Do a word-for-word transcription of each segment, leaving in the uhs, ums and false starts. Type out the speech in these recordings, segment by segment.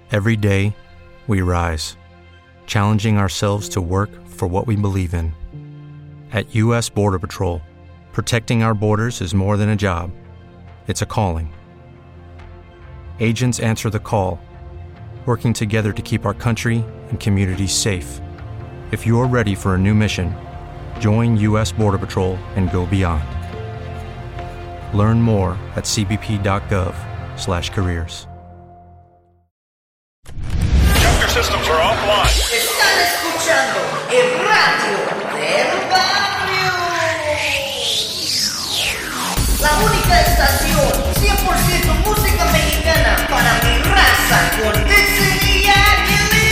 Every day, we rise, challenging ourselves to work for what we believe in. At U S Border Patrol, protecting our borders is more than a job. It's a calling. Agents answer the call, working together to keep our country and communities safe. If you're ready for a new mission, join U S Border Patrol and go beyond. Learn more at c b p dot gov slash careers. Chapter systems are offline. Están escuchando el radio del barrio. La única estación cien por ciento música mexicana para mi raza con Dixon y Aguilera.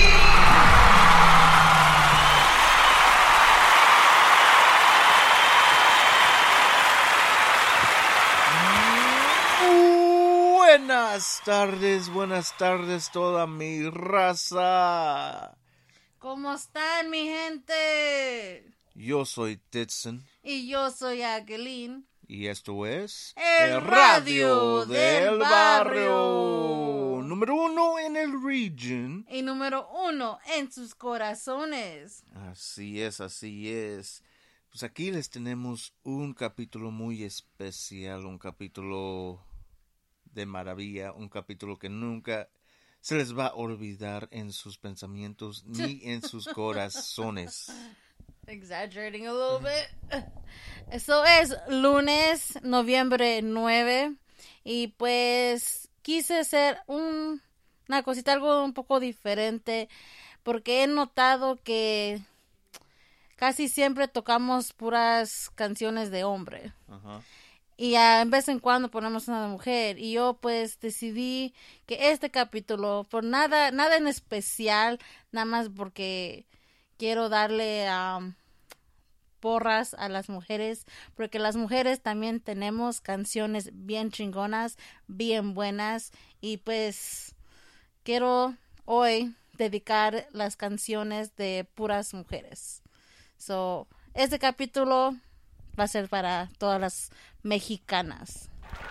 Buenas tardes, buenas tardes toda mi raza. ¿Cómo están, mi gente? Yo soy Titson. Y yo soy Aguilín. Y esto es... El, el Radio, radio del, del barrio. barrio. Número uno en el region. Y número uno en sus corazones. Así es, así es. Pues aquí les tenemos un capítulo muy especial, un capítulo... de maravilla, un capítulo que nunca se les va a olvidar en sus pensamientos ni en sus corazones. Exaggerating a little bit. Eso es lunes, noviembre nueve, y pues quise hacer un, una cosita, algo un poco diferente, porque he notado que casi siempre tocamos puras canciones de hombre. Ajá. Uh-huh. Y a en vez en cuando ponemos una mujer. Y yo pues decidí que este capítulo, por nada, nada en especial, nada más porque quiero darle um, porras a las mujeres, porque las mujeres también tenemos canciones bien chingonas, bien buenas, y pues quiero hoy dedicar las canciones de puras mujeres. So, este capítulo va a ser para todas las mexicanas.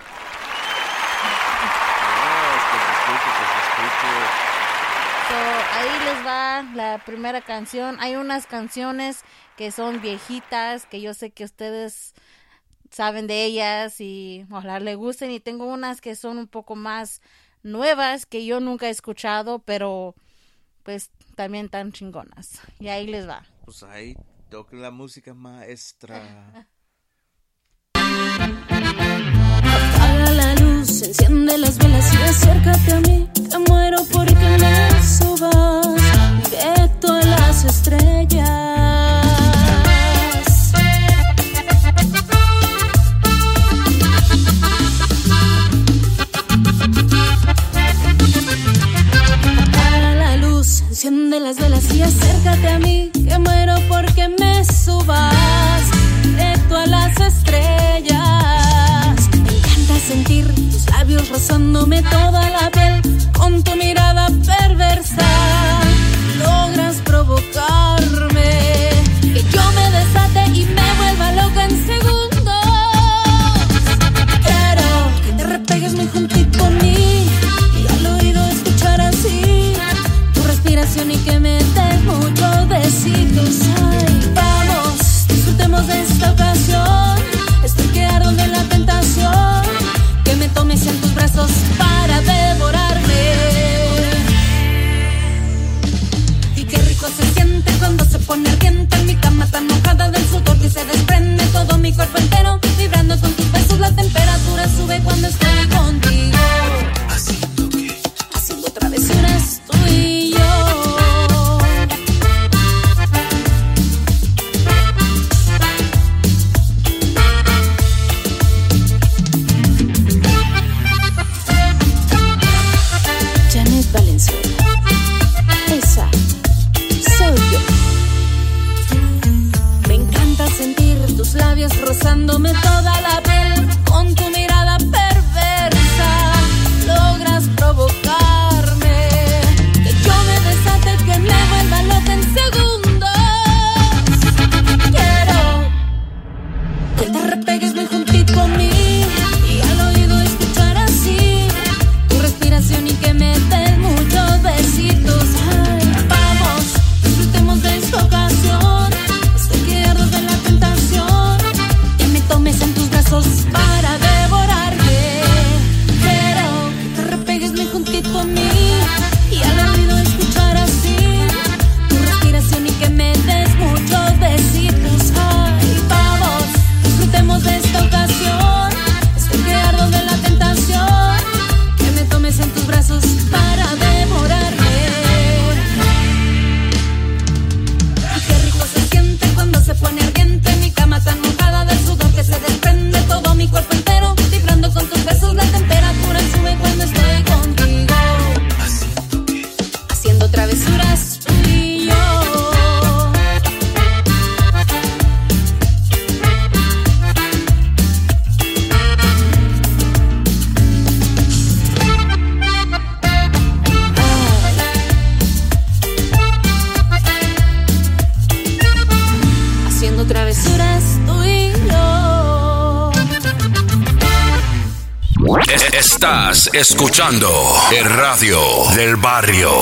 So, ahí les va la primera canción. Hay unas canciones que son viejitas, que yo sé que ustedes saben de ellas y ojalá les gusten. Y tengo unas que son un poco más nuevas, que yo nunca he escuchado, pero pues también tan chingonas. Y ahí les va. Pues ahí toque la música maestra. Apaga la luz, enciende las velas y acércate a mí, que muero porque me subas directo a las estrellas. Apaga la luz, enciende las velas y acércate a mí, que muero porque me subas directo a las estrellas. Me encanta sentir tus labios rozándome toda la piel, con tu mirada perversa logras provocarme, que yo me desate y me vuelva loca en segundos. Quiero que te repegues muy juntito a mí y al oído escuchar así tu respiración y que me des muchos besitos. Ay, vamos, disfrutemos de esta ocasión. Estoy que ardo de la tentación, que me tomes en tus brazos para devorar. Estás escuchando el radio del barrio.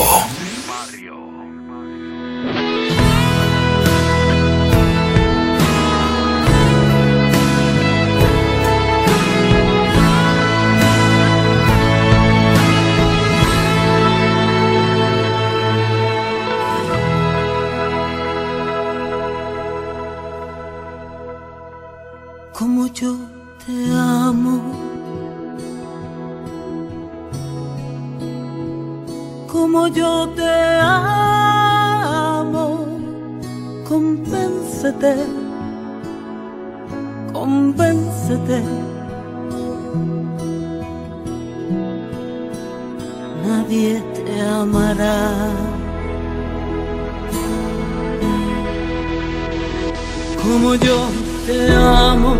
Como yo te amo, como yo te amo, convéncete, convéncete. Nadie te amará como yo te amo,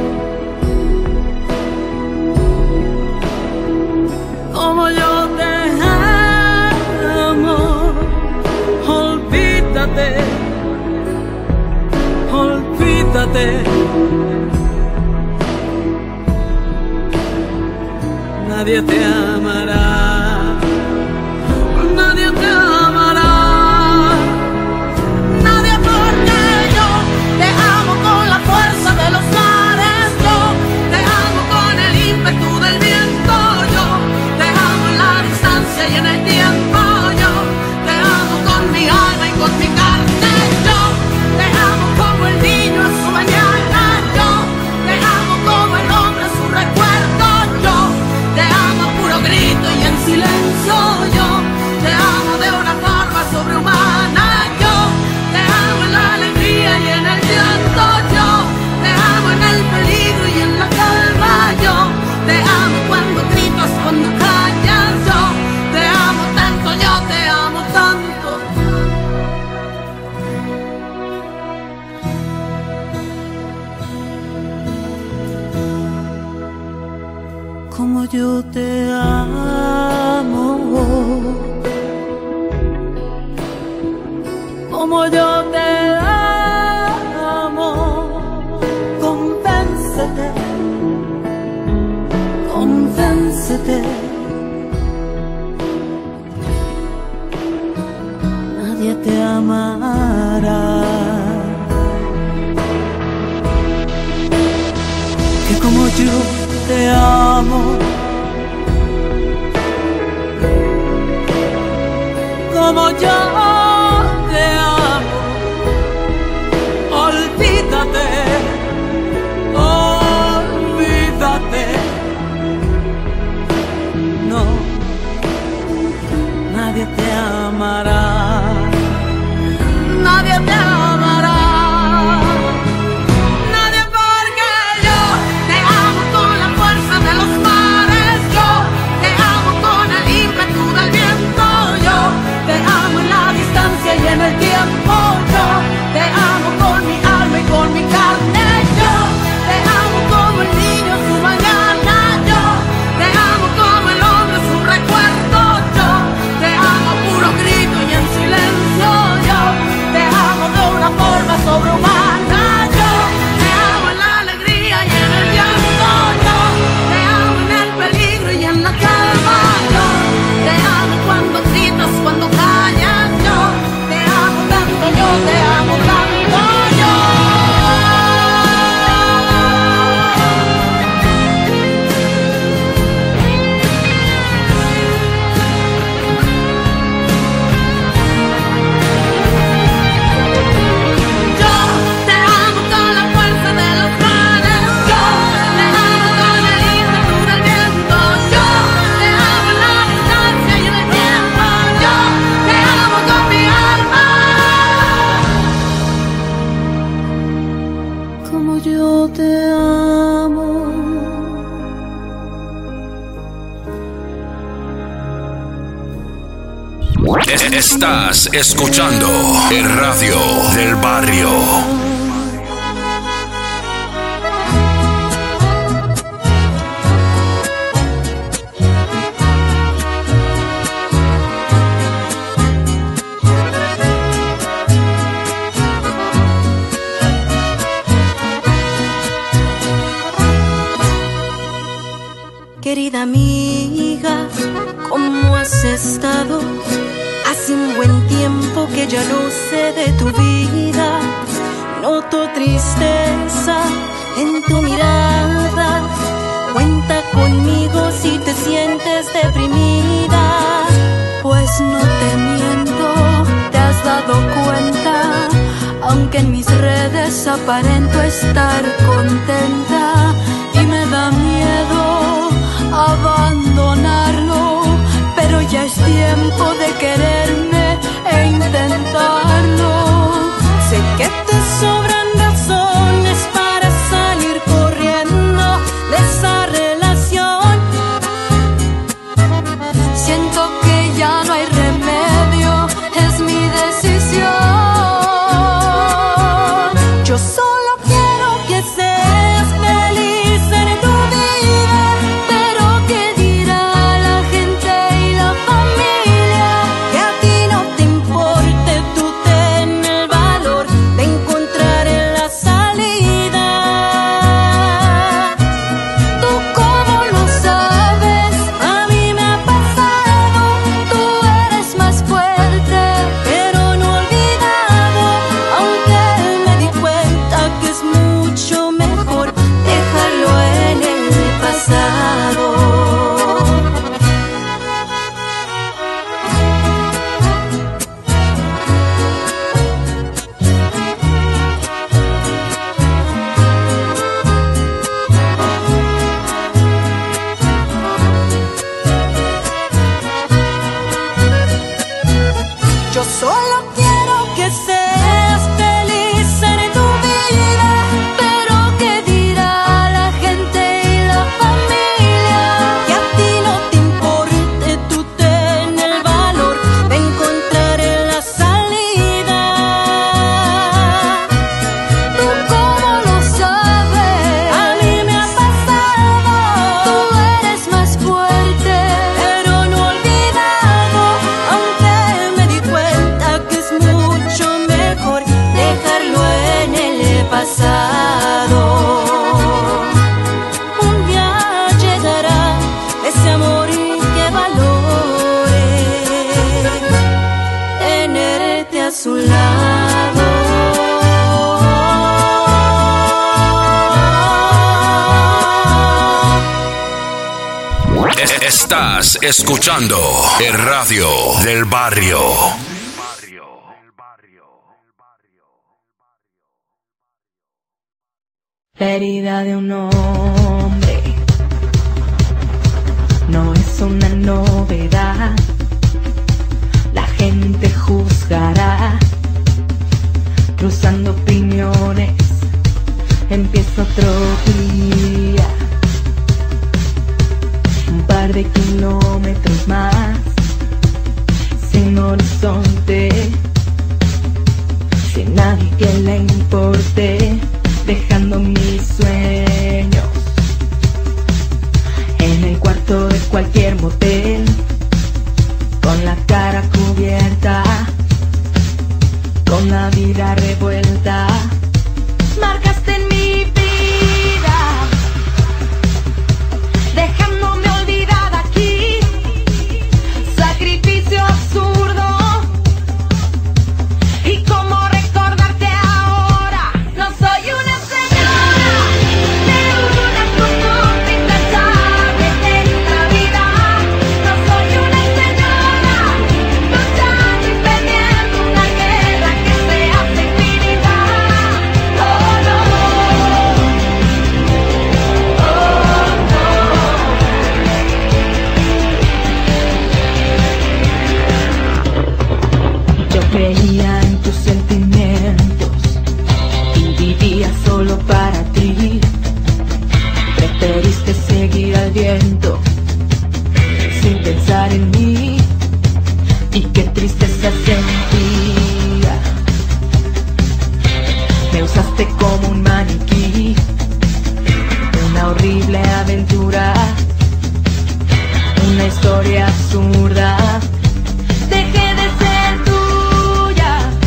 como yo te amo. Olvídate, olvídate. Nadie te amará, nadie te amará. De los mares, yo te amo con el ímpetu del viento, yo te amo en la distancia y en el tiempo, yo te amo con mi alma y con mi carne, yo te amo como el niño en su mañana, yo te amo como el hombre en su recuerdo, yo te amo a puro grito y en silencio, yo te amo de una forma sobrehumana, yo te amo en la alegría y en el llanto, yo en el peligro y en la calma, yo te amo cuando gritas, cuando callas, yo te amo tanto, yo te amo tanto. Como yo te amo, como yo te amo. Convéncete, nadie te amará. Que como yo te amo, como yo te amo, olvídate. No, nadie te amará, nadie te amará, nadie, porque yo te amo con la fuerza de los mares, yo te amo con el ímpetu del viento, yo te amo en la distancia y en el tiempo, yo te amo con mi alma y con mi carne, yo te amo como el niño en su mañana, yo te amo como el hombre en su recuerdo, yo te amo a puro grito y en silencio, yo te amo de una forma sobrehumana, yo te amo en la alegría y en el llanto, yo te amo en el peligro y en la calma, yo te amo cuando gritas, cuando callas, yo te amo tanto, yo te amo tanto, yo. Yo te amo. Estás escuchando el radio del barrio. Querida estado. Hace un buen tiempo que ya no sé de tu vida. Noto tristeza en tu mirada. Cuenta conmigo si te sientes deprimida. Pues no te miento, te has dado cuenta. Aunque en mis redes aparento estar contenta. Y me da miedo abandonarlo, pero ya es tiempo de quererme e intentarlo. Sé que te sobran razones para salir corriendo de esa relación. Siento que ya no hay remedio, es mi decisión. Yo solo quiero que seas feliz en tu vida, pero ¿qué dirá la gente y la familia? Que a ti no te importe, tú ten el valor de encontrar en la salida. Tú cómo lo sabes, a mí me ha pasado. Tú eres más fuerte, pero no olvidado. Aunque me di cuenta que es mucho mejor dejarlo en el pasado. Yo solo quiero que seas feliz en tu vida, pero ¿qué dirá la gente y la familia? Que a ti no te importe, tú ten el valor de encontrar en la salida. Tú cómo lo sabes, a mí me ha pasado. Tú eres más fuerte, pero no olvidado. Aunque me di cuenta que es mucho mejor dejarlo en el pasado. Un día llegará ese amor que valore tenerte a su lado. Estás escuchando el radio del barrio. La herida de un hombre no es una novedad. La gente juzgará, cruzando opiniones. Empieza otro día, un par de kilómetros más, sin horizonte, sin nadie que le importe, dejando mis sueños en el cuarto de cualquier motel, con la cara cubierta, con la vida revuelta. Marcaste en mi vida, dejándome olvidada aquí. Sacrificio absurdo. ¿Y cómo recordarte ahora? No soy una señora de una costumbre intachable de esta vida. No soy una señora luchando y perdiendo una guerra que se hace infinita. Oh no, oh no. Yo creía en tus sentimientos y vivía solo para ti. Preferiste seguir al viento sin pensar en mí, y qué tristeza sentía. Me usaste como un maniquí, una horrible aventura, una historia absurda. Dejé de ser tuya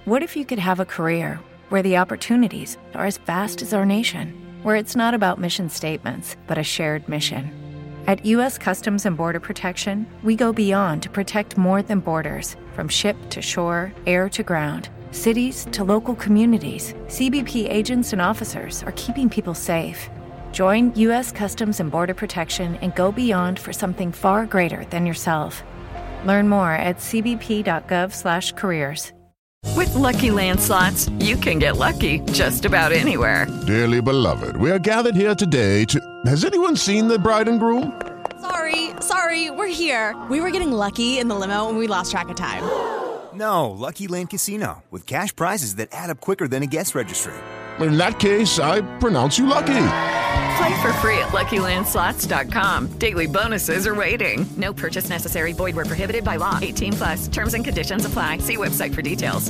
What if you could have a career where the opportunities are as vast as our nation, where it's not about mission statements, but a shared mission? At U S Customs and Border Protection, we go beyond to protect more than borders, from ship to shore, air to ground, cities to local communities. C B P agents and officers are keeping people safe. Join U S Customs and Border Protection and go beyond for something far greater than yourself. Learn more at c b p dot gov slash careers. With Lucky Land Slots, you can get lucky just about anywhere. Dearly beloved, we are gathered here today to... Has anyone seen the bride and groom? Sorry, sorry, we're here. We were getting lucky in the limo and we lost track of time. No, Lucky Land Casino, with cash prizes that add up quicker than a guest registry. In that case, I pronounce you lucky. Play for free at lucky land slots dot com. Daily bonuses are waiting. No purchase necessary. Void where prohibited by law. eighteen plus. Terms and conditions apply. See website for details.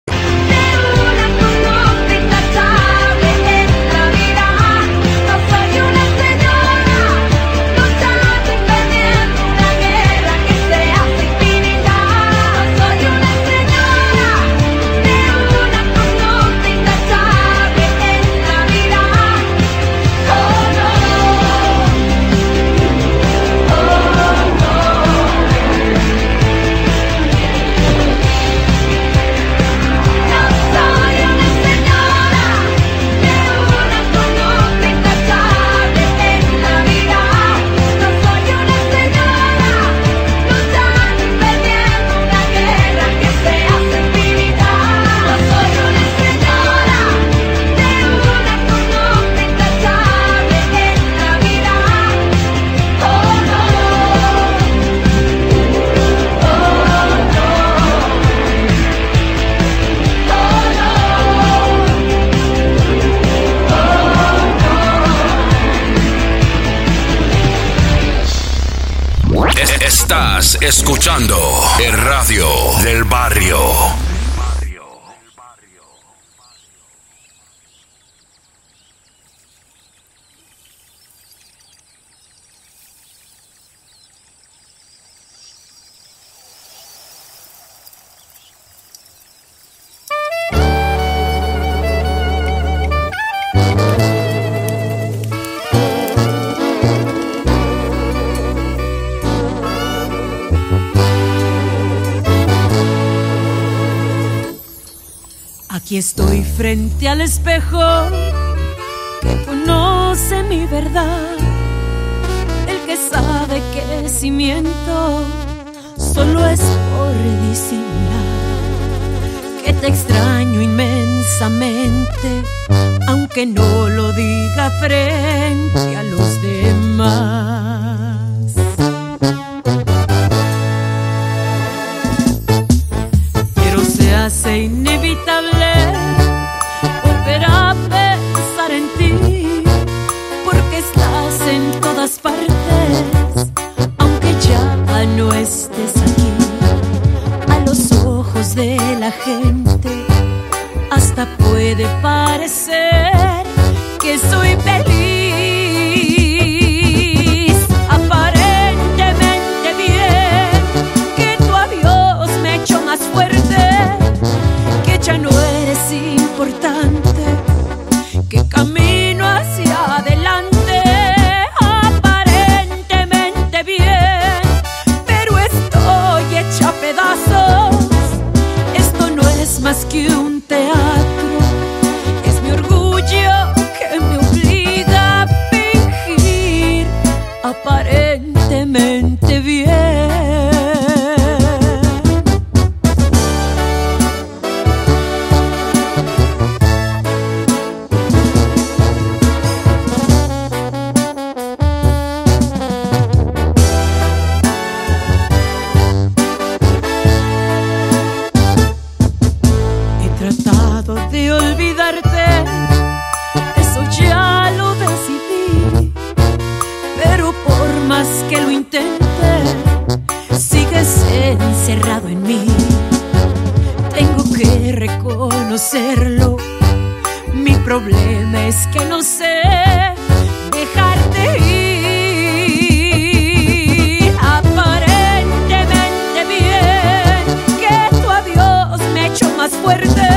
Estás escuchando el radio del barrio. Aquí estoy frente al espejo que conoce mi verdad, el que sabe que si miento solo es por disimular, que te extraño inmensamente, aunque no lo diga frente a los demás. Pero se hace inevitable volver a pensar en ti, porque estás en todas partes, aunque ya no estés aquí. A los ojos de la gente hasta puede parecer que soy feliz, aparentemente bien, que tu adiós me ha hecho más fuerte, que ya no eres importante, que camino hacia adelante, aparentemente bien, pero estoy hecha a pedazos. Esto no es más que un teatro, es mi orgullo que me obliga a fingir aparentemente bien. De olvidarte, eso ya lo decidí, pero por más que lo intente, sigues encerrado en mí. Tengo que reconocerlo, mi problema es que no sé dejarte ir. Aparentemente bien, que tu adiós me ha hecho más fuerte,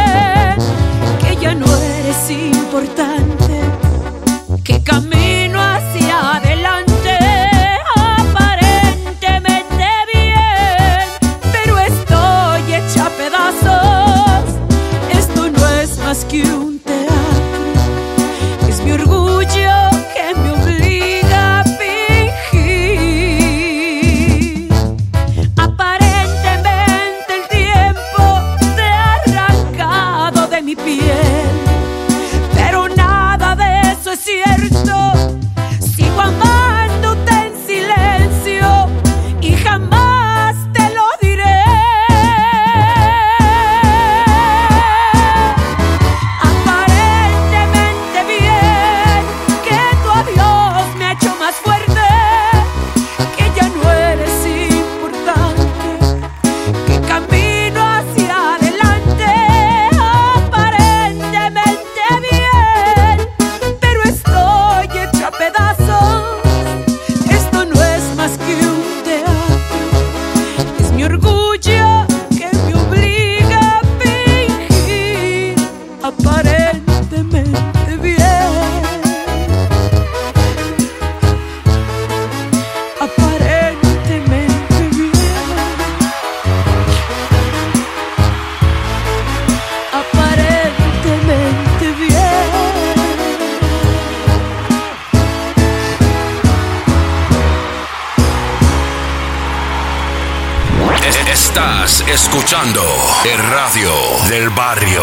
escuchando el radio del barrio.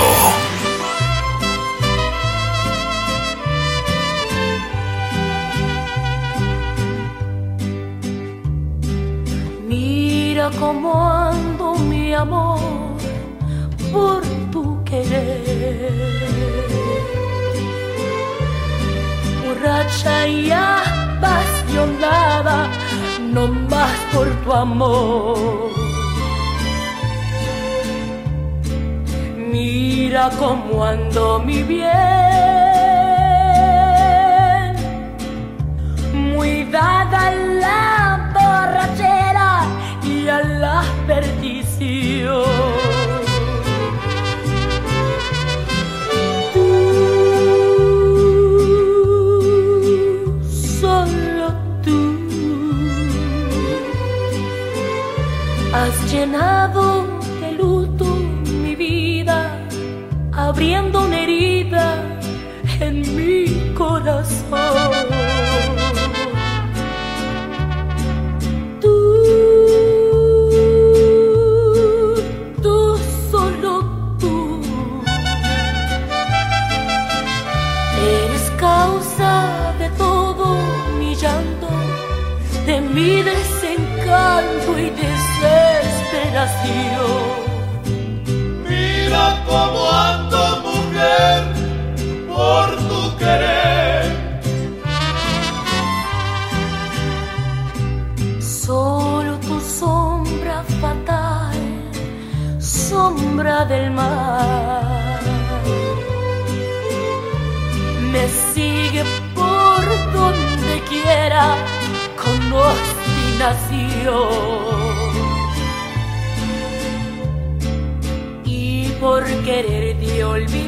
Mira cómo ando, mi amor, por tu querer. Borracha y apasionada, no más por tu amor. Mira cómo ando, mi bien, muy dada a la borrachera y a la perdición. Has llenado de luto mi vida, abriendo una herida en mi corazón. Tú, tú, solo tú, eres causa de todo mi llanto, de mi desencanto y desesperación. Mira cómo ando, mujer, por tu querer. Solo tu sombra fatal, sombra del mar, me sigue por donde quiera con obstinación. Por quererte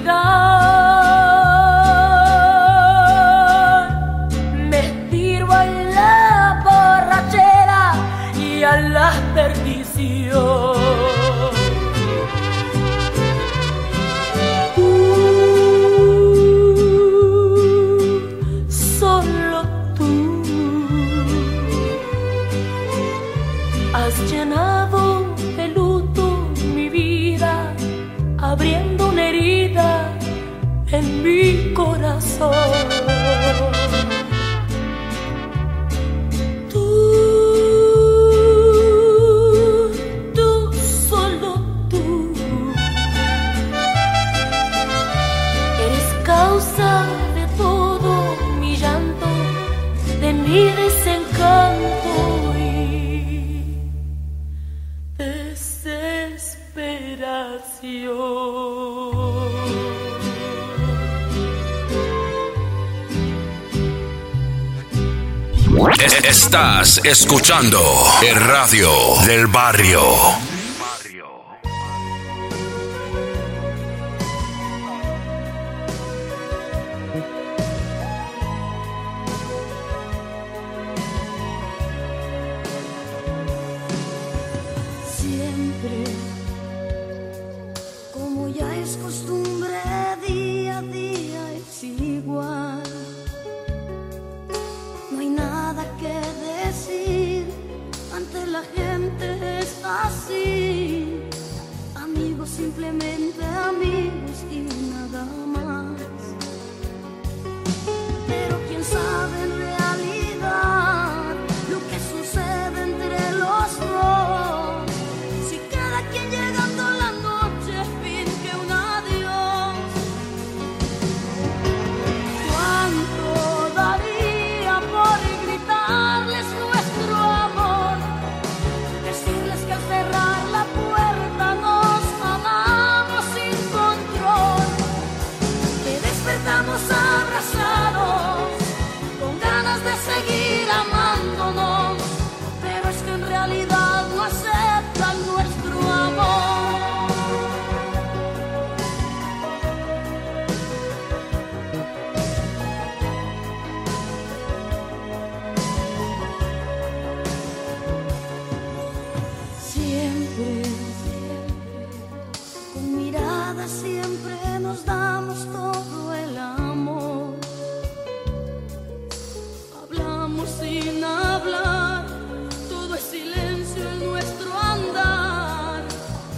olvidar, me tiro a la borrachera y a la perdición. Tú, solo tú, has llenado de luto mi vida, abriendo una herida en mi corazón. Tú, tú, solo tú, eres causa de todo mi llanto, de mi desencanto y desesperación. Estás escuchando el radio del barrio. Siempre, como ya es costumbre, día a día es igual. No hay nada que decir, ante la gente es así. Amigos, simplemente amigos y nada más. Pero quién sabe en realidad lo que sucede entre los dos. Si cada quien llegando a la noche finge un adiós. ¿Cuánto daría por gritarles nuestro amor? Decirles que al cerrar la puerta nos amamos sin control, que despertamos abrazados con ganas de seguir amándonos, pero es que en realidad no aceptan nuestro amor. Siempre, con miradas siempre nos damos todo el amor. Hablamos sin hablar, todo es silencio en nuestro andar.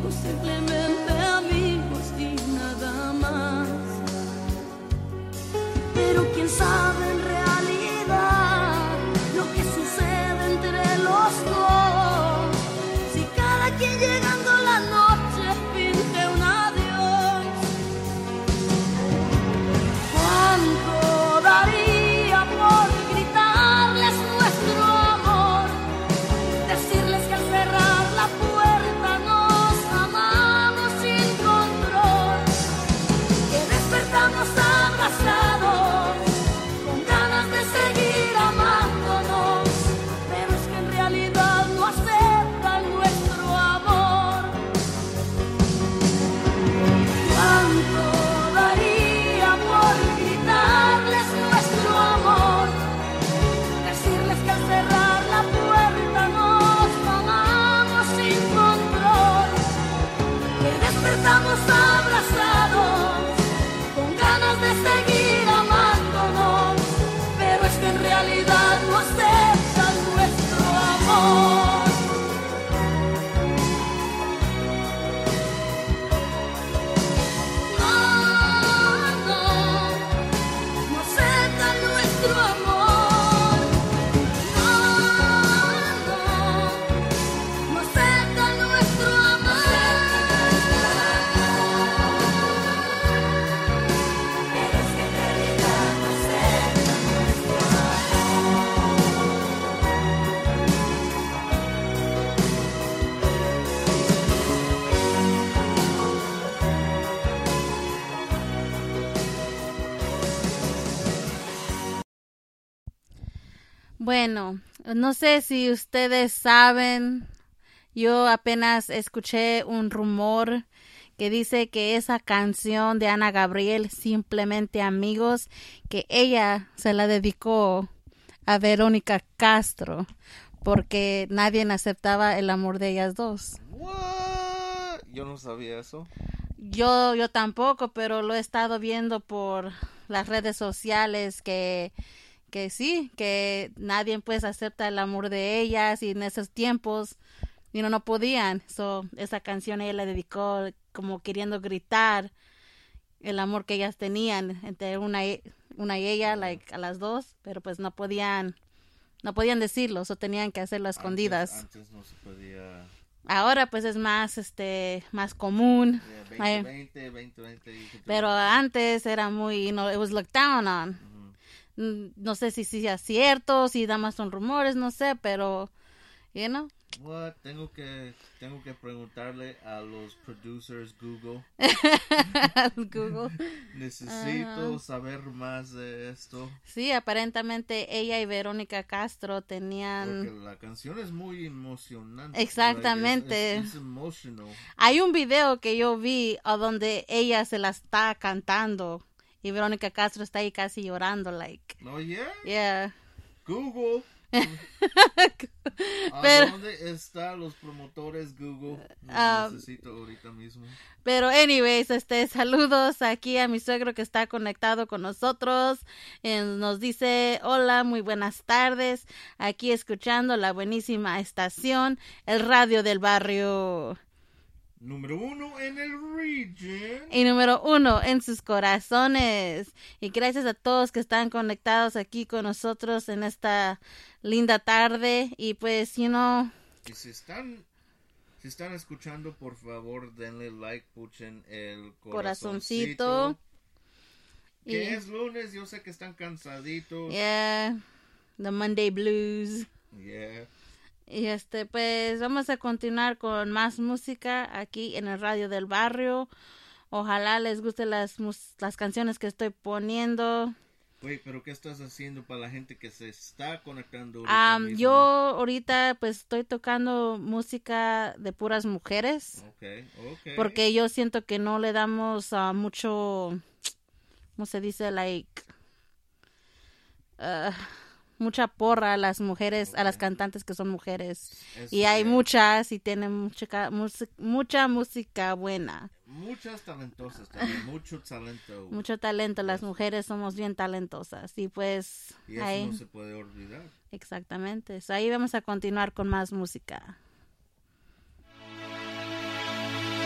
amigos, simplemente amigos y nada más. Pero quién sabe en realidad lo que sucede entre los dos. Si cada quien llegando la noche finge un adiós. ¿Cuánto daría por gritarles nuestro amor? Decirles que al cerrar la puerta nos amamos sin control. Que despertamos abrazados con ganas de seguir amándonos. Pero es que en realidad no aceptan nuestro amor. ¿Cuánto daría por gritarles nuestro amor? Decirles que al cerrar la puerta nos amamos sin control. Que despertamos abrazados con ganas de seguir amándonos. Pero es que en realidad no aceptan nuestro amor. No aceptan nuestro amor. No, no, no aceptan nuestro amor. Pero es que en realidad no aceptan nuestro Bueno, no sé si ustedes saben, yo apenas escuché un rumor que dice que esa canción de Ana Gabriel, Simplemente Amigos, que ella se la dedicó a Verónica Castro porque nadie aceptaba el amor de ellas dos. What? Yo no sabía eso. Yo, yo tampoco, pero lo he estado viendo por las redes sociales que, que sí, que nadie pues acepta el amor de ellas y en esos tiempos you know, no podían. So, esa canción ella la dedicó como queriendo gritar el amor que ellas tenían entre una, una y ella, like, a las dos, pero pues no podían, no podían decirlo, o tenían que hacerlo a escondidas. Antes, antes no se podía. Ahora pues es más este más común. Yeah, veinte veinte, veinte veinte, pero antes era muy, you know, it was looked down on. Uh-huh. No sé si sí es cierto, si nada más son rumores, no sé, pero you know. What? Tengo que tengo que preguntarle a los producers Google. Google. Necesito uh-huh. saber más de esto. Sí, aparentemente ella y Verónica Castro tenían. Porque la canción es muy emocionante. Exactamente. Like, es, es, es emotional. Hay un video que yo vi a donde ella se la está cantando y Verónica Castro está ahí casi llorando, like. Oh yeah. Yeah. Google. Pero, ¿a dónde están los promotores Google? Los um, necesito ahorita mismo. Pero anyways, este, saludos aquí a mi suegro que está conectado con nosotros. Eh, nos dice, hola, muy buenas tardes. Aquí escuchando la buenísima estación, el radio del barrio. Número uno en el region. Y número uno en sus corazones. Y gracias a todos que están conectados aquí con nosotros en esta linda tarde. Y pues, you know. Y si están, si están escuchando, por favor, denle like, puchen el corazoncito. corazoncito. Que y, es lunes, yo sé que están cansaditos. Yeah, the Monday blues. Yeah. Y este, pues, vamos a continuar con más música aquí en el radio del barrio. Ojalá les gusten las, las canciones que estoy poniendo. Oye, pero ¿qué estás haciendo para la gente que se está conectando ahorita um, mismo? Yo ahorita, pues, estoy tocando música de puras mujeres. Okay, okay. Porque yo siento que no le damos uh, mucho, ¿cómo se dice? Like, uh, mucha porra a las mujeres, okay. a las cantantes que son mujeres. Eso, y hay yeah. muchas y tienen mucha, mucha música buena. Muchas talentosas también, mucho talento. Mucho talento, las eso. Mujeres somos bien talentosas y pues... Y eso ahí, no se puede olvidar. Exactamente, so, ahí vamos a continuar con más música.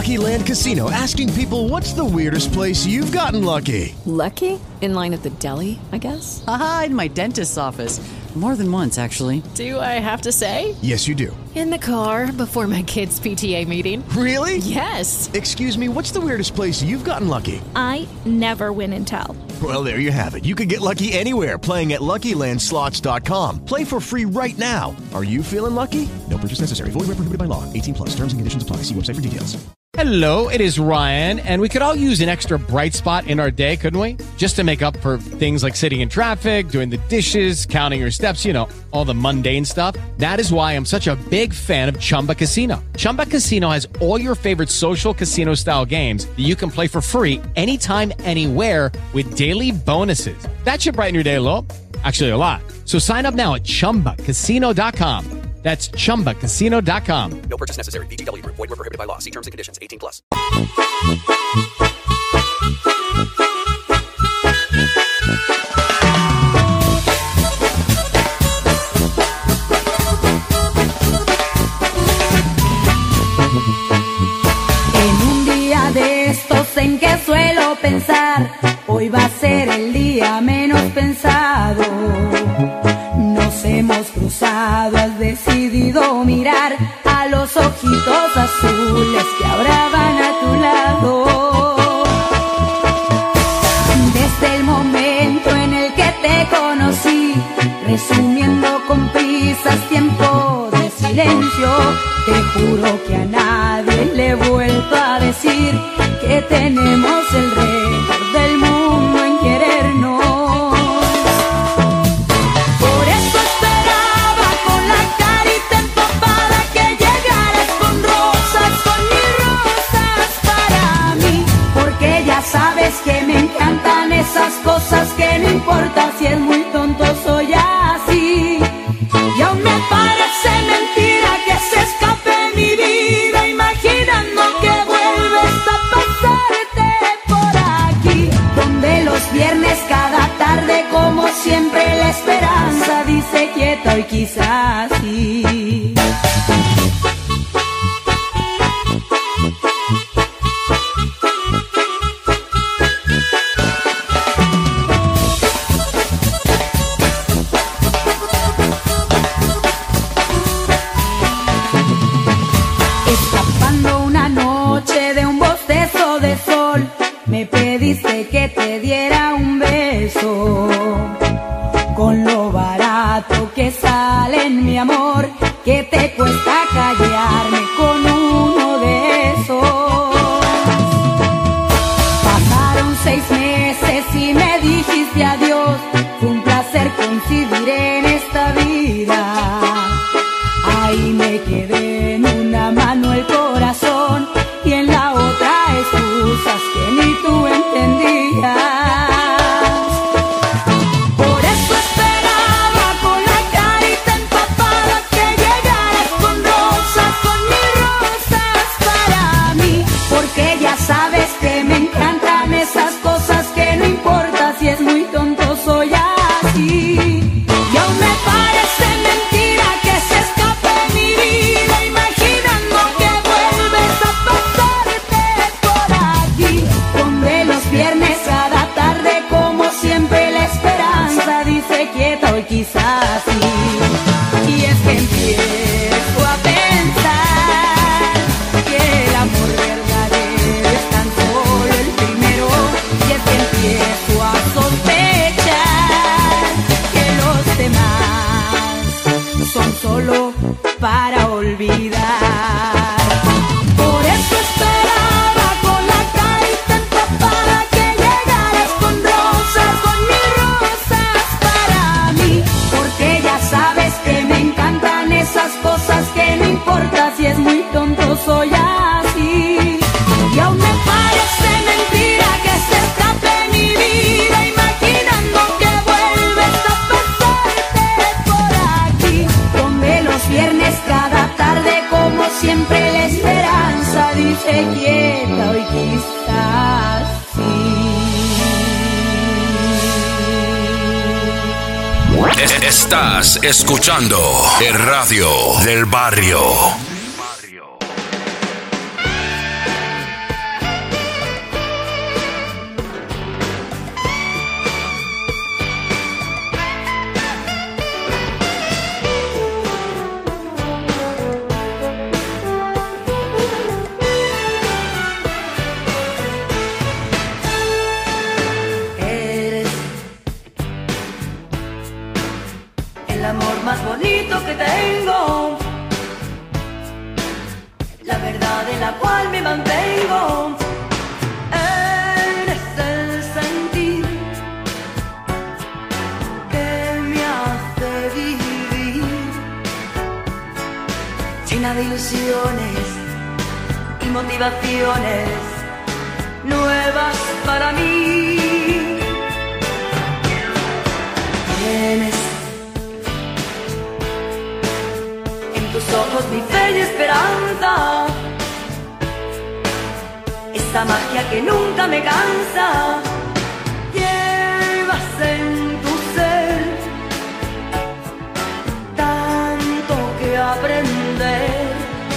Lucky Land Casino, asking people, what's the weirdest place you've gotten lucky? Lucky? In line at the deli, I guess? Aha, in my dentist's office. More than once, actually. Do I have to say? Yes, you do. In the car before my kids' P T A meeting. Really? Yes. Excuse me, what's the weirdest place you've gotten lucky? I never win and tell. Well, there you have it. You can get lucky anywhere, playing at Lucky Land Slots dot com. Play for free right now. Are you feeling lucky? No purchase necessary. Void where prohibited by law. eighteen plus. Terms and conditions apply. See website for details. Hello, it is Ryan, and we could all use an extra bright spot in our day, couldn't we? Just to make up for things like sitting in traffic, doing the dishes, counting your steps, you know, all the mundane stuff. That is why I'm such a big fan of Chumba Casino. Chumba Casino has all your favorite social casino-style games that you can play for free anytime, anywhere with daily bonuses. That should brighten your day a little. Actually, a lot. So sign up now at chumba casino dot com. That's chumba casino dot com. No purchase necessary. V G W Group. Void where prohibited by law. See terms and conditions. eighteen plus. En un día de estos en que suelo pensar, hoy va a ser el día menos pensado. Nos hemos cruzado, has decidido mirar a los ojitos azules que ahora van a tu lado. Desde el momento en el que te conocí, resumiendo con prisas tiempo de silencio, te juro que a nadie le he vuelto a decir que tenemos el récord del mundo en querernos. Sabes que me encantan esas cosas que no importa si es muy tonto, soy así. Y aún me parece mentira que se escape mi vida imaginando que vuelves a pasarte por aquí, donde los viernes cada tarde como siempre la esperanza dice quieta y quizás sí. Me pediste que te diera un beso, con lo barato que sale en mi amor, que te cuesta callarme con uno de esos. Pasaron seis meses y me dijiste adiós, fue un placer coincidir en esta vida. Ahí me quedé, en una mano el corazón y en la otra excusas que ni tú entendías. Por eso esperaba con la carita empapada que llegaras con rosas, con mis rosas para mí, porque ya sabes que me encantan esas cosas que no importa si es muy tonto, soy así. Y aún me parece mentira que se escape mi vida imaginando que vuelves a pasarte por aquí, donde los viernes cada tarde como siempre la esperanza dice quieta hoy quizás sí. Y es que empiezo a pensar que el amor verdadero es tan solo el primero, y es que empiezo a sospechar que los demás son solo para olvidar. Por eso esperaba con la carita empapada que llegaras con rosas, con mis rosas para mí, porque ya sabes que me encantan esas cosas que no importa si es muy tonto, soy así. Y aún me parece mentira que se escape mi vida imaginando que vuelves a pasarte por aquí, donde los viernes cada tarde como siempre la esperanza dice quieta hoy quizás sí. Es- Estás escuchando el radio del barrio. único que tengo, la verdad en la cual me mantengo. Eres el sentir que me hace vivir, llena de ilusiones y motivaciones nuevas para mí. Tienes en tus ojos mi fe y esperanza, esa magia que nunca me cansa. Llevas en tu ser tanto que aprender,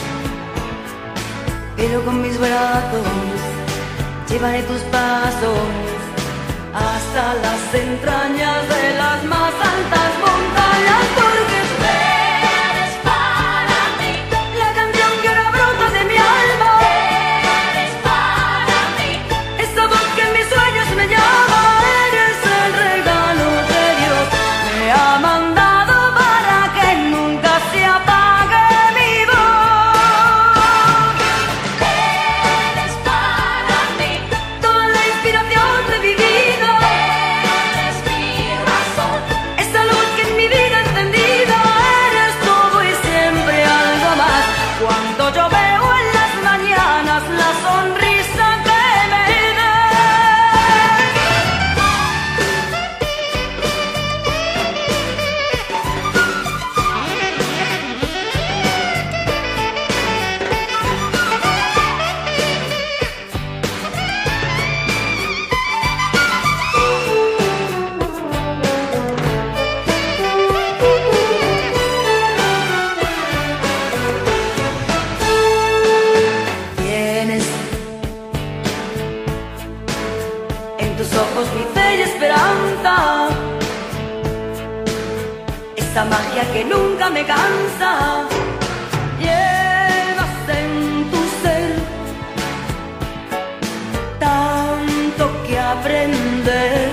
pero con mis brazos llevaré tus pasos hasta las entrañas de las más altas montañas, porque tú eres para mí la canción que ahora brota de mi alma. Eres para mí esa voz que en mis sueños me llama. Eres el regalo que Dios me ha mandado para que nunca se apague mi voz. Eres para mí toda la inspiración de mi vida. Esa luz que en mi vida he encendido, eres todo y siempre algo más. Cuando yo veo en las mañanas la sonrisa que me tienes en tus ojos mi fe y esperanza, esa magia que nunca me cansa. Llevas en tu ser tanto que aprender,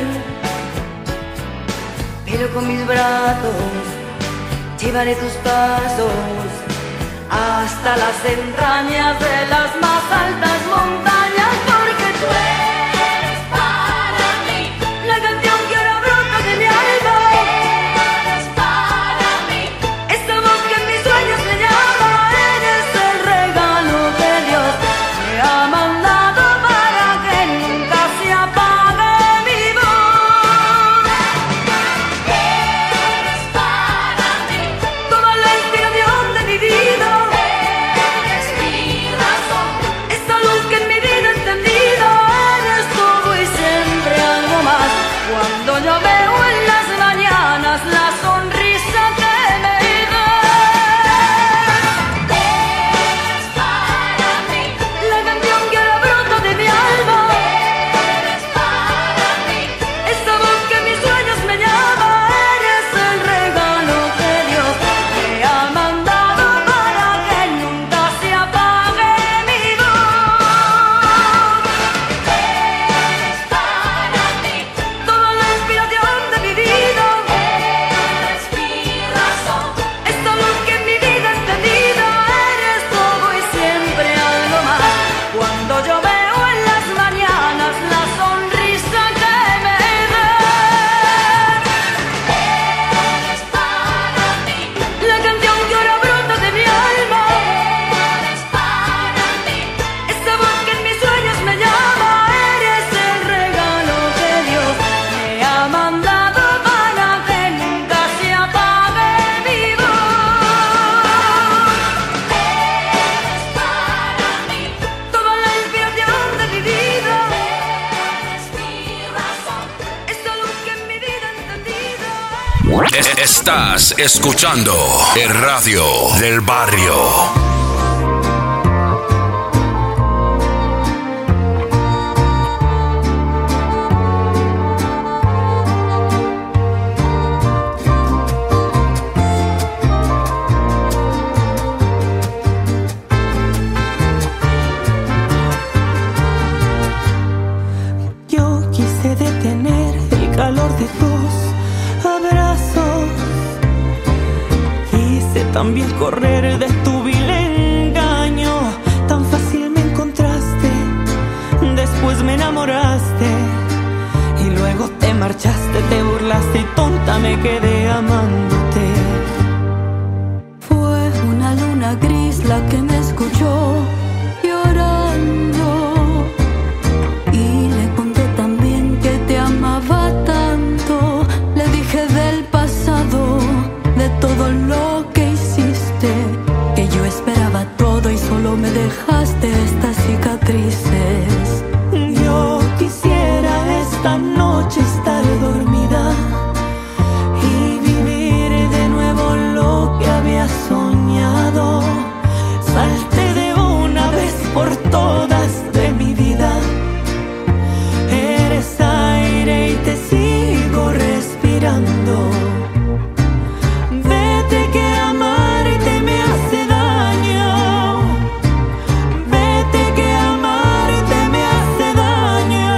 pero con mis brazos llevaré tus pasos hasta las entrañas de las más altas montañas, porque tú eres para mí la canción que ahora brota de mi alma. Eres para mí esa voz que en mis sueños me llama. Eres el regalo que Dios me ha mandado para que nunca se apague mi voz. Eres para mí toda la inspiración de mi vida. Esa luz que en mi vida he encendido, eres todo y siempre algo más. Cuando yo veo en las mañanas la sonrisa que me das, eres para mí la canción que ahora brota de mi alma. Eres para mí esa voz que en mis sueños me llama. Eres el regalo que Dios me ha mandado para que nunca se apague mi voz. Eres para mí toda la inspiración de mi vida. Eres mi razón, esta luz que en mi vida he encendido. Eres todo y siempre algo más. Cuando yo veo en las mañanas la sonrisa que me das, eres para mí la canción que ahora brota de mi alma. Eres para mí esa voz que en mis sueños me llama. Eres el regalo que Dios me ha mandado para que nunca se apague mi voz. Eres para mí toda la inspiración de mi vida. Eres mi razón, esta luz que en mi vida he encendido. Estás escuchando el radio del barrio. calor de tus abrazos. Quise también correr de tu vil engaño. Tan fácil me encontraste, después me enamoraste y luego te marchaste, te burlaste y tonta me quedé amándote. Fue una luna gris la que me escuchó llorando y le conté también que te amaba tanto. Le dije del pasado, de todo lo que hiciste, que yo esperaba todo y solo me dejaste estas cicatrices. Yo quisiera esta noche estar dormida y vivir de nuevo lo que había soñado. Salte de una vez por todas de mi vida. Eres aire y te sigo respirando. Vete que amarte me hace daño. Vete que amarte me hace daño.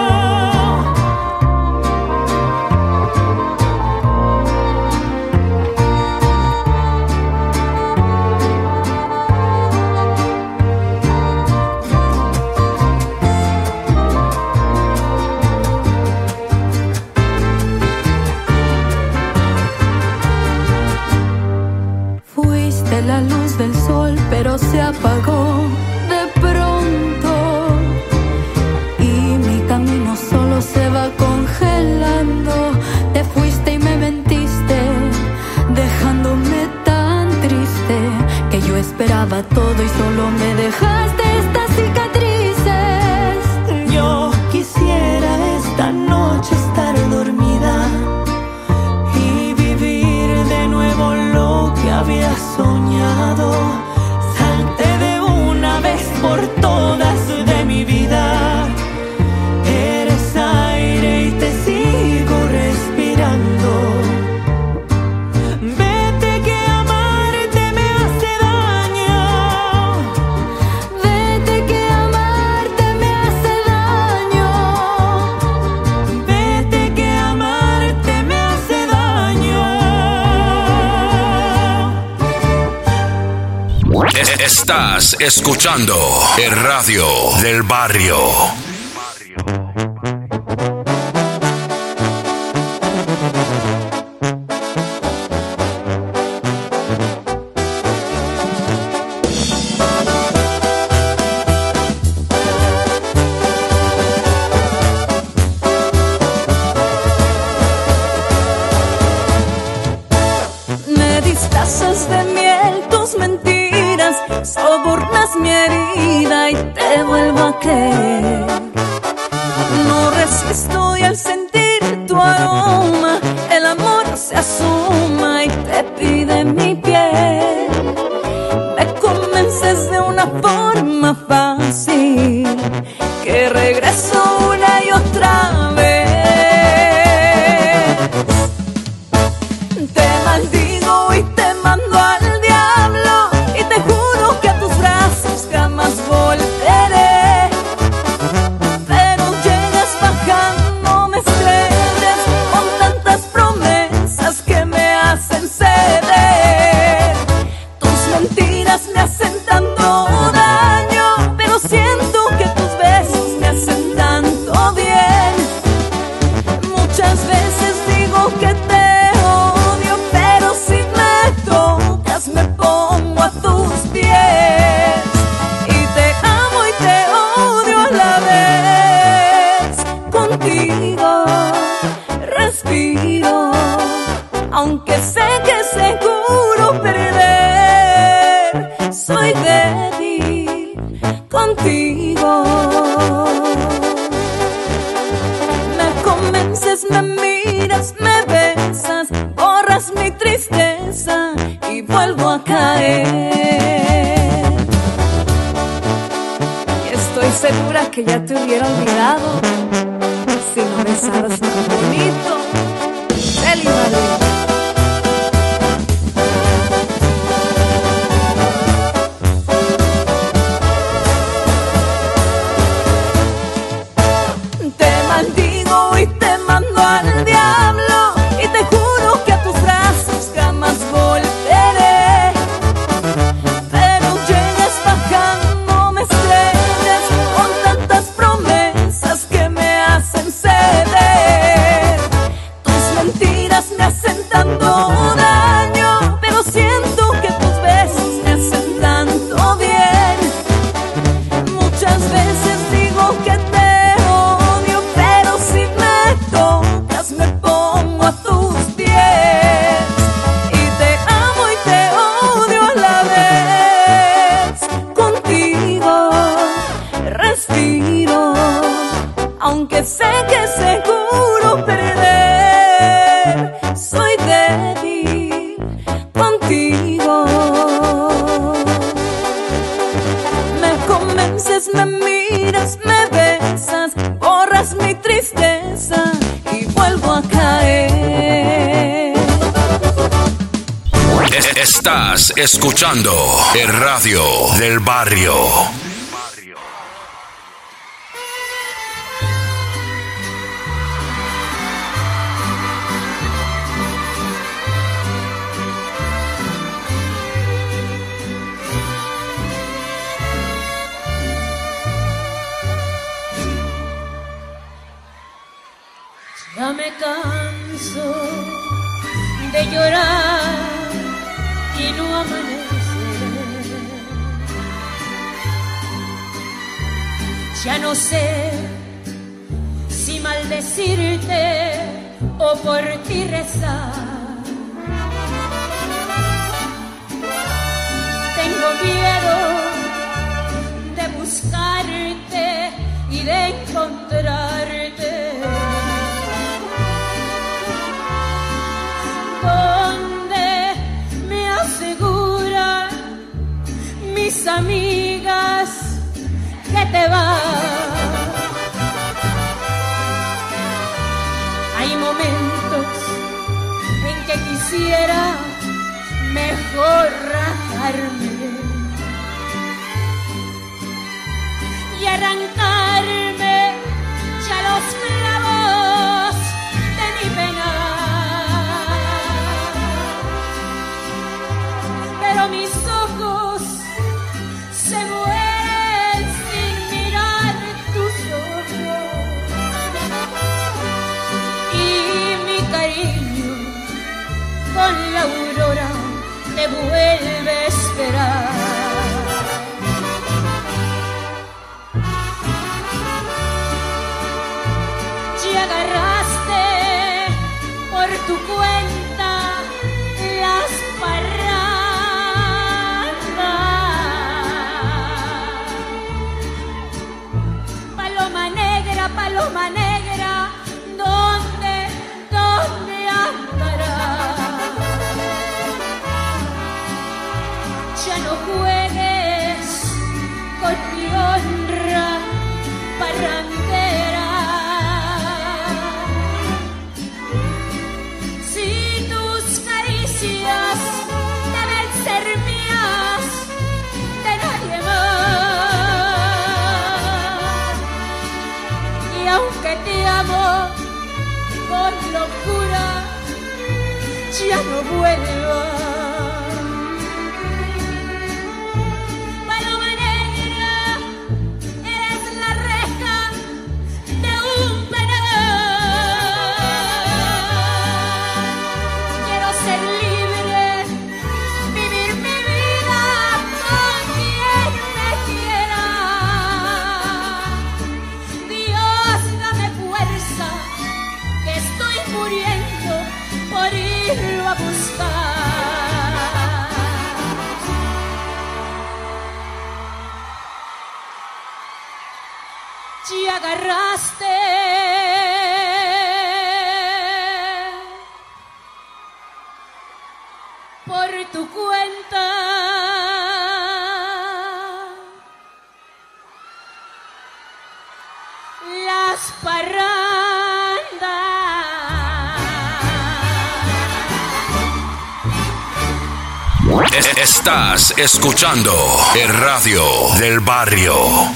Fuiste la luz del sol, pero se apagó de pronto y mi camino solo se va congelando. Te fuiste y me mentiste, dejándome tan triste, que yo esperaba todo y solo me dejaste estas cicatrices. Yo quisiera esta noche estar dormida y vivir de nuevo lo que había soñado. Salte de una vez por todas de mi vida. Eres aire y te sigo respirando. Vete que amarte me hace daño. Vete que amarte me hace daño. Vete que amarte me hace daño. Estás escuchando el radio del barrio. Me disfrazas de miel tus mentiras, sobornas mi herida y te vuelvo a creer. No resisto y al sentir tu aroma, el amor se asoma y te pide mi piel. Me convences de una forma fácil, que regreso una y otra vez. Te maldigo y te mando al diablo y te juro que a tus brazos jamás volveré. Pero llegas bajándome estrellas con tantas promesas que me hacen ceder. Tus mentiras me hacen tanto daño, pero siento que tus besos me hacen tanto bien. Muchas veces digo que te odio, pero si me tocas me pongo a tus pies. Y te amo y te odio a la vez. Contigo respiro, aunque sé que seguro perder. Soy débil contigo. Me convences, me miras, me besas, borras mi tristeza y vuelvo a caer. Y estoy segura que ya te hubiera olvidado si no besaras tan bonito. Feliz Madrid. Te maldigo y te mando al diablo y te juro que a tus brazos jamás volveré. Estás escuchando el radio del barrio. Ya me canso de llorar y no amanecer. Ya no sé si maldecirte o por ti rezar. Tengo miedo de buscarte y de encontrarte. Donde me aseguran mis amigas que te vas. Hay momentos en que quisiera mejor rajarme y arrancarme ya los clavos de mi pena. Pero mis ojos se mueren sin mirar tus ojos y mi cariño con la aurora te vuelve a esperar. Y agarraste por tu cuenta las parrandas. Paloma negra, paloma negra, ¿dónde, dónde andarás? Ya no juegues con mi honra parrandera. Si tus caricias deben ser mías, de nadie más. Y aunque te amo con locura, ya no vuelvas. A buscar. Y agarraste por tu cuenta las parrandas. Estás escuchando el radio del barrio.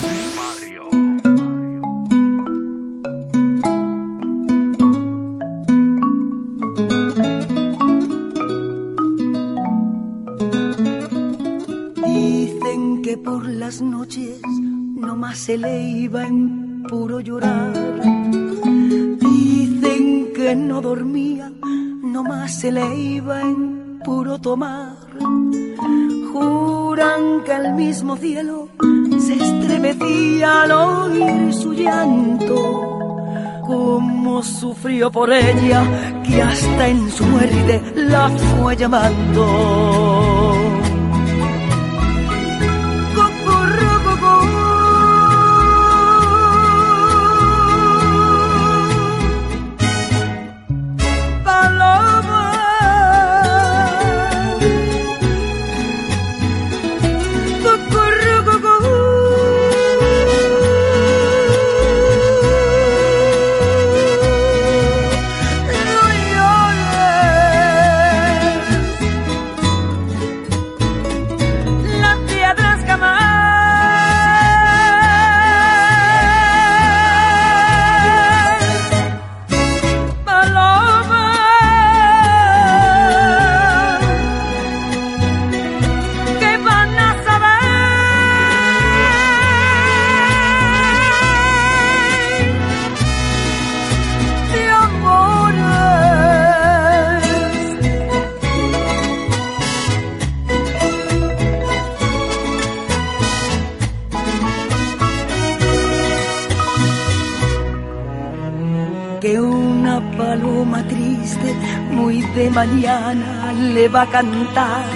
Dicen que por las noches nomás se le iba en puro llorar. Dicen que no dormía, nomás se le iba en puro tomar. Juran que el mismo cielo se estremecía al oír su llanto. Cómo sufrió por ella, que hasta en su muerte la fue llamando. paloma triste, muy de mañana le va a cantar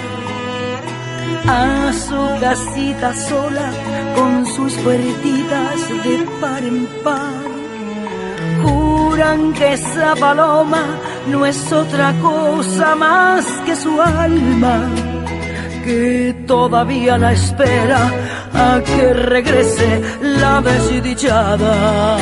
a su casita sola con sus puertitas de par en par. Juran que esa paloma no es otra cosa más que su alma, que todavía la espera a que regrese la desdichada.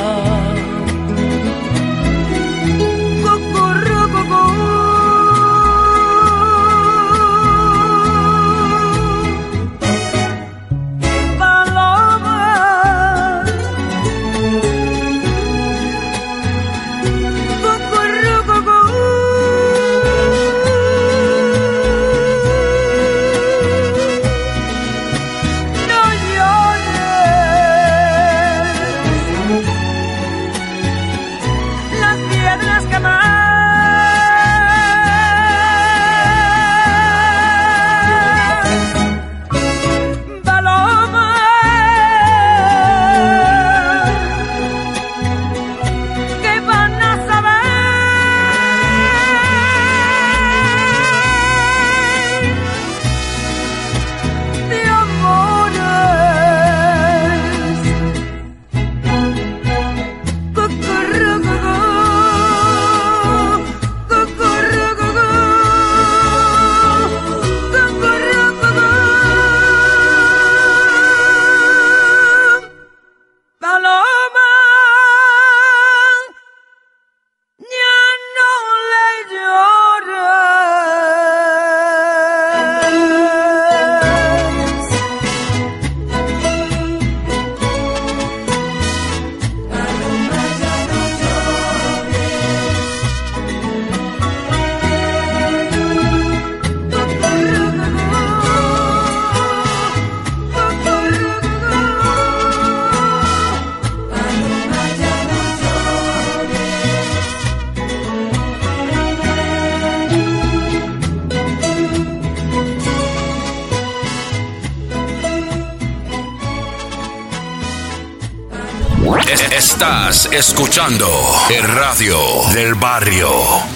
Estás escuchando el radio del barrio.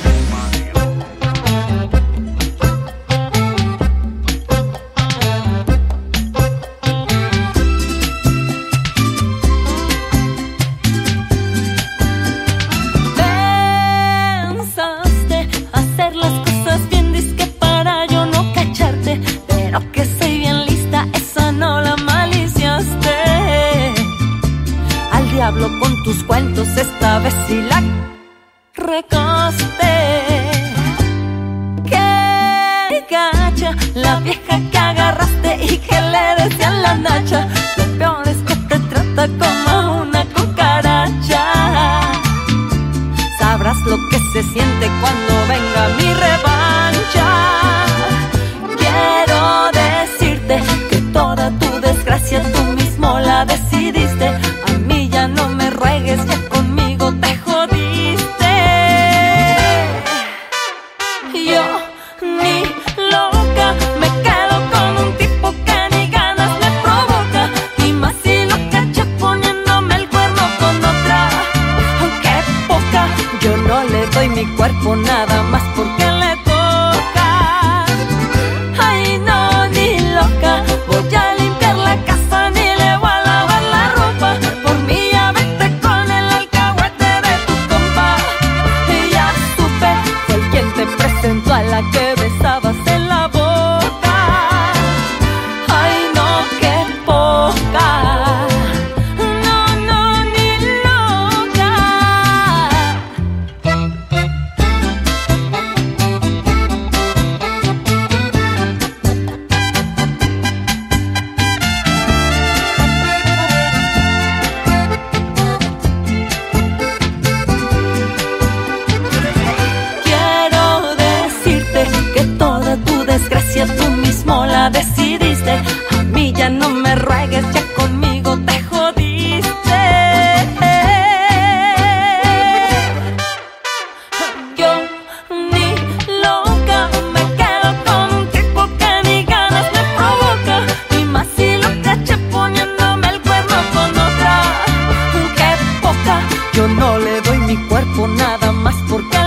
Pensaste hacer las cosas bien, dizque para yo no cacharte, pero que soy bien lista, esa no la maliciaste. Al diablo con tus cuentos, esta vez sí la recaste. Qué gacha la vieja que agarraste y que le decían la nacha. Lo peor es que te trata como una cucaracha. Sabrás lo que se siente cuando venga mi revancha. Quiero decirte que toda tu desgracia tú mismo la decidiste. A mí ya no me ruegues, ya conmigo te jodiste. Yo ni loca me quedo con un tipo que ni ganas me provoca, y más si lo caché poniéndome el cuerno con otra. Aunque poca, yo no le doy mi cuerpo nada más porque le toca. Ay no, ni loca, voy a limpiar la casa ni le voy a lavar la ropa. Por mí ya vete con el alcahuete de tu compa. Y ya supe, fue el quien te presentó a la que besabas en la boca. Ay no, qué poca. No, no, ni loca. Quiero decirte que toda tu desgracia tú mismo la decidiste. A mí ya no me ruegues, ya conmigo te jodiste. Yo ni loca me quedo con un tipo que ni ganas me provoca, y más si lo caché poniéndome el cuerno con otra. Qué poca, yo no le doy mi cuerpo nada más porque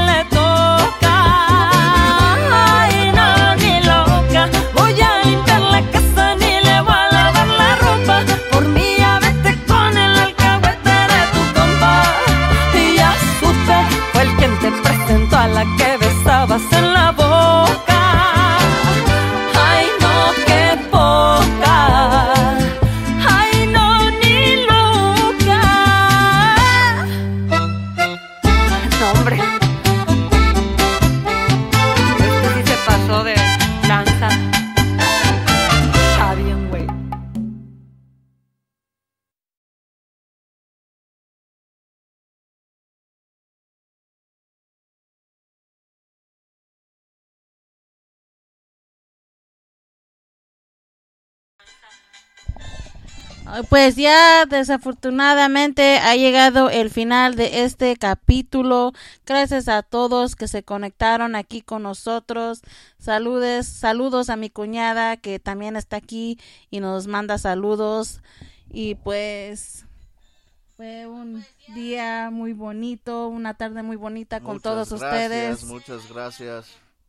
Pues ya desafortunadamente ha llegado el final de este capítulo. Gracias a todos que se conectaron aquí con nosotros. Saludes, saludos a mi cuñada que también está aquí y nos manda saludos. Y pues fue un día muy bonito, una tarde muy bonita con muchas todos gracias, ustedes. Muchas gracias.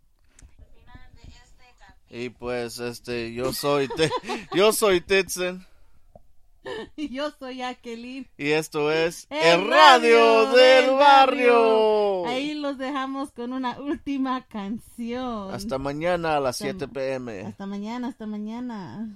Y pues este yo soy te, yo soy Titsen. Y yo soy Jacqueline. Y esto es El, el Radio, Radio del, del barrio. barrio. Ahí los dejamos con una última canción. Hasta mañana a las siete p m Hasta mañana, hasta mañana.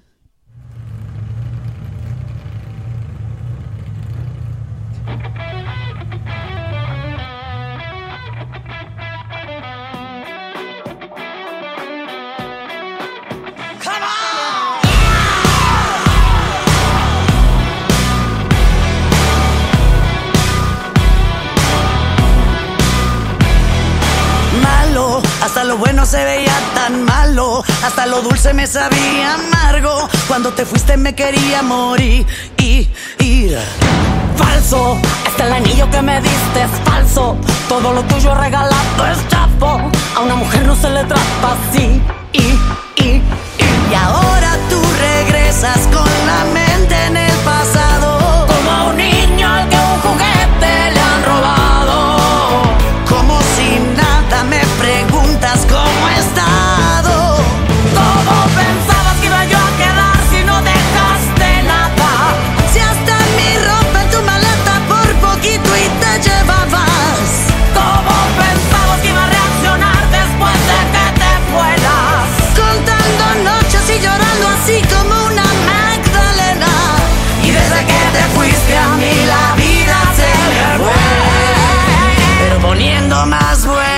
Hasta lo bueno se veía tan malo, hasta lo dulce me sabía amargo. Cuando te fuiste me quería morir y ir. Falso, hasta el anillo que me diste es falso. Todo lo tuyo regalado es chafo. A una mujer no se le trata así y, y, y. Y ahora tú regresas con la mente en el pasado, como a un niño al que un juguete le han robado. Como si nada me preguntas cómo he estado. ¿Cómo pensabas que iba yo a quedar si no dejaste nada? Si hasta mi ropa en tu maleta por poquito y te llevabas. ¿Cómo pensabas que iba a reaccionar después de que te fueras? Contando noches y llorando así como una Magdalena. Y desde que te fuiste a mí la vida se me fue, pero poniendo más buena.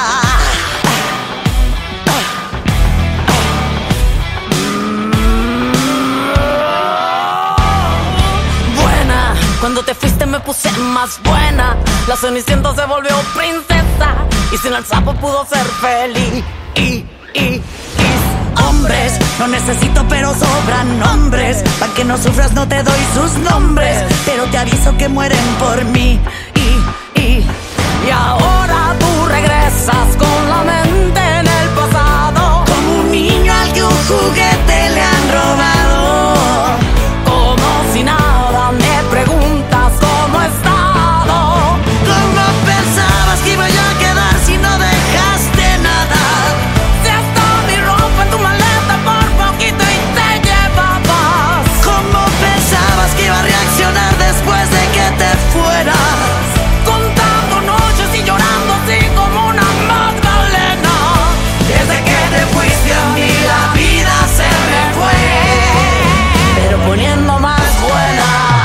Buena, cuando te fuiste me puse más buena. La Cenicienta se volvió princesa y sin el sapo pudo ser feliz. Y, y, y hombres, no necesito pero sobran hombres. Pa' que no sufras no te doy sus nombres, pero te aviso que mueren por mí. Y, y, y ahora tú regresas con la mente en el pasado, como un niño al que un juguete le han robado. Como si nada me preguntas cómo he estado. ¿Cómo pensabas que iba yo a quedar si no dejaste nada? Si hasta mi ropa en tu maleta por poquito y te llevabas. ¿Cómo pensabas que iba a reaccionar después de que te fueras? Contando noches y llorando así como una Magdalena. Desde que te fuiste a mí la vida se me fue, pero poniendo más buena.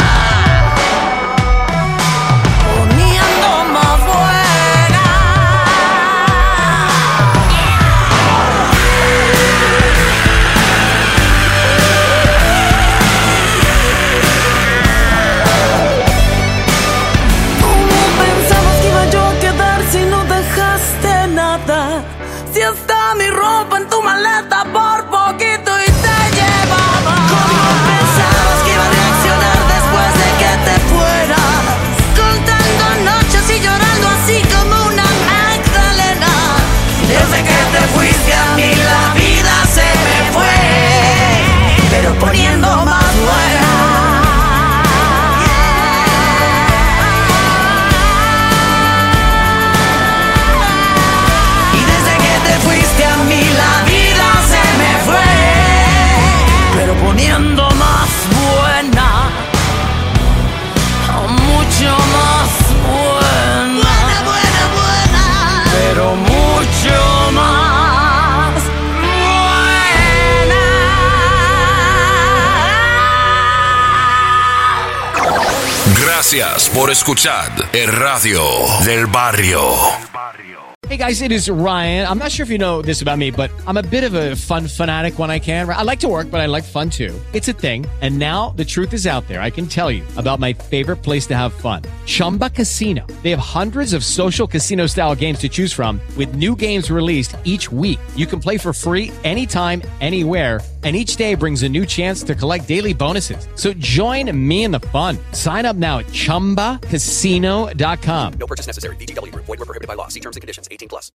Poniendo más buena. ¿Cómo pensabas que iba yo a quedar si no dejaste nada? Si hasta mi ropa en tu maleta por poquito y te llevaba. ¿Cómo pensabas que iba a reaccionar después de que te fueras? Contando noches y llorando así como una Magdalena. Desde que te fuiste a mí la vida se me fue, pero poniendo más buena. Y desde que te fuiste a mí la vida se me fue, pero poniendo más buena. Mucho más buena. Buena, buena, buena. Pero mucho más buena. Gracias por escuchar el Radio del Barrio. Hey guys, it is Ryan. I'm not sure if you know this about me, but I'm a bit of a fun fanatic when I can. I like to work, but I like fun too. It's a thing. And now the truth is out there. I can tell you about my favorite place to have fun. Chumba Casino. They have hundreds of social casino style games to choose from with new games released each week. You can play for free anytime, anywhere. And each day brings a new chance to collect daily bonuses. So join me in the fun. Sign up now at chumba casino dot com. No purchase necessary. V G W Group. Void where prohibited by law. See terms and conditions. eighteen plus.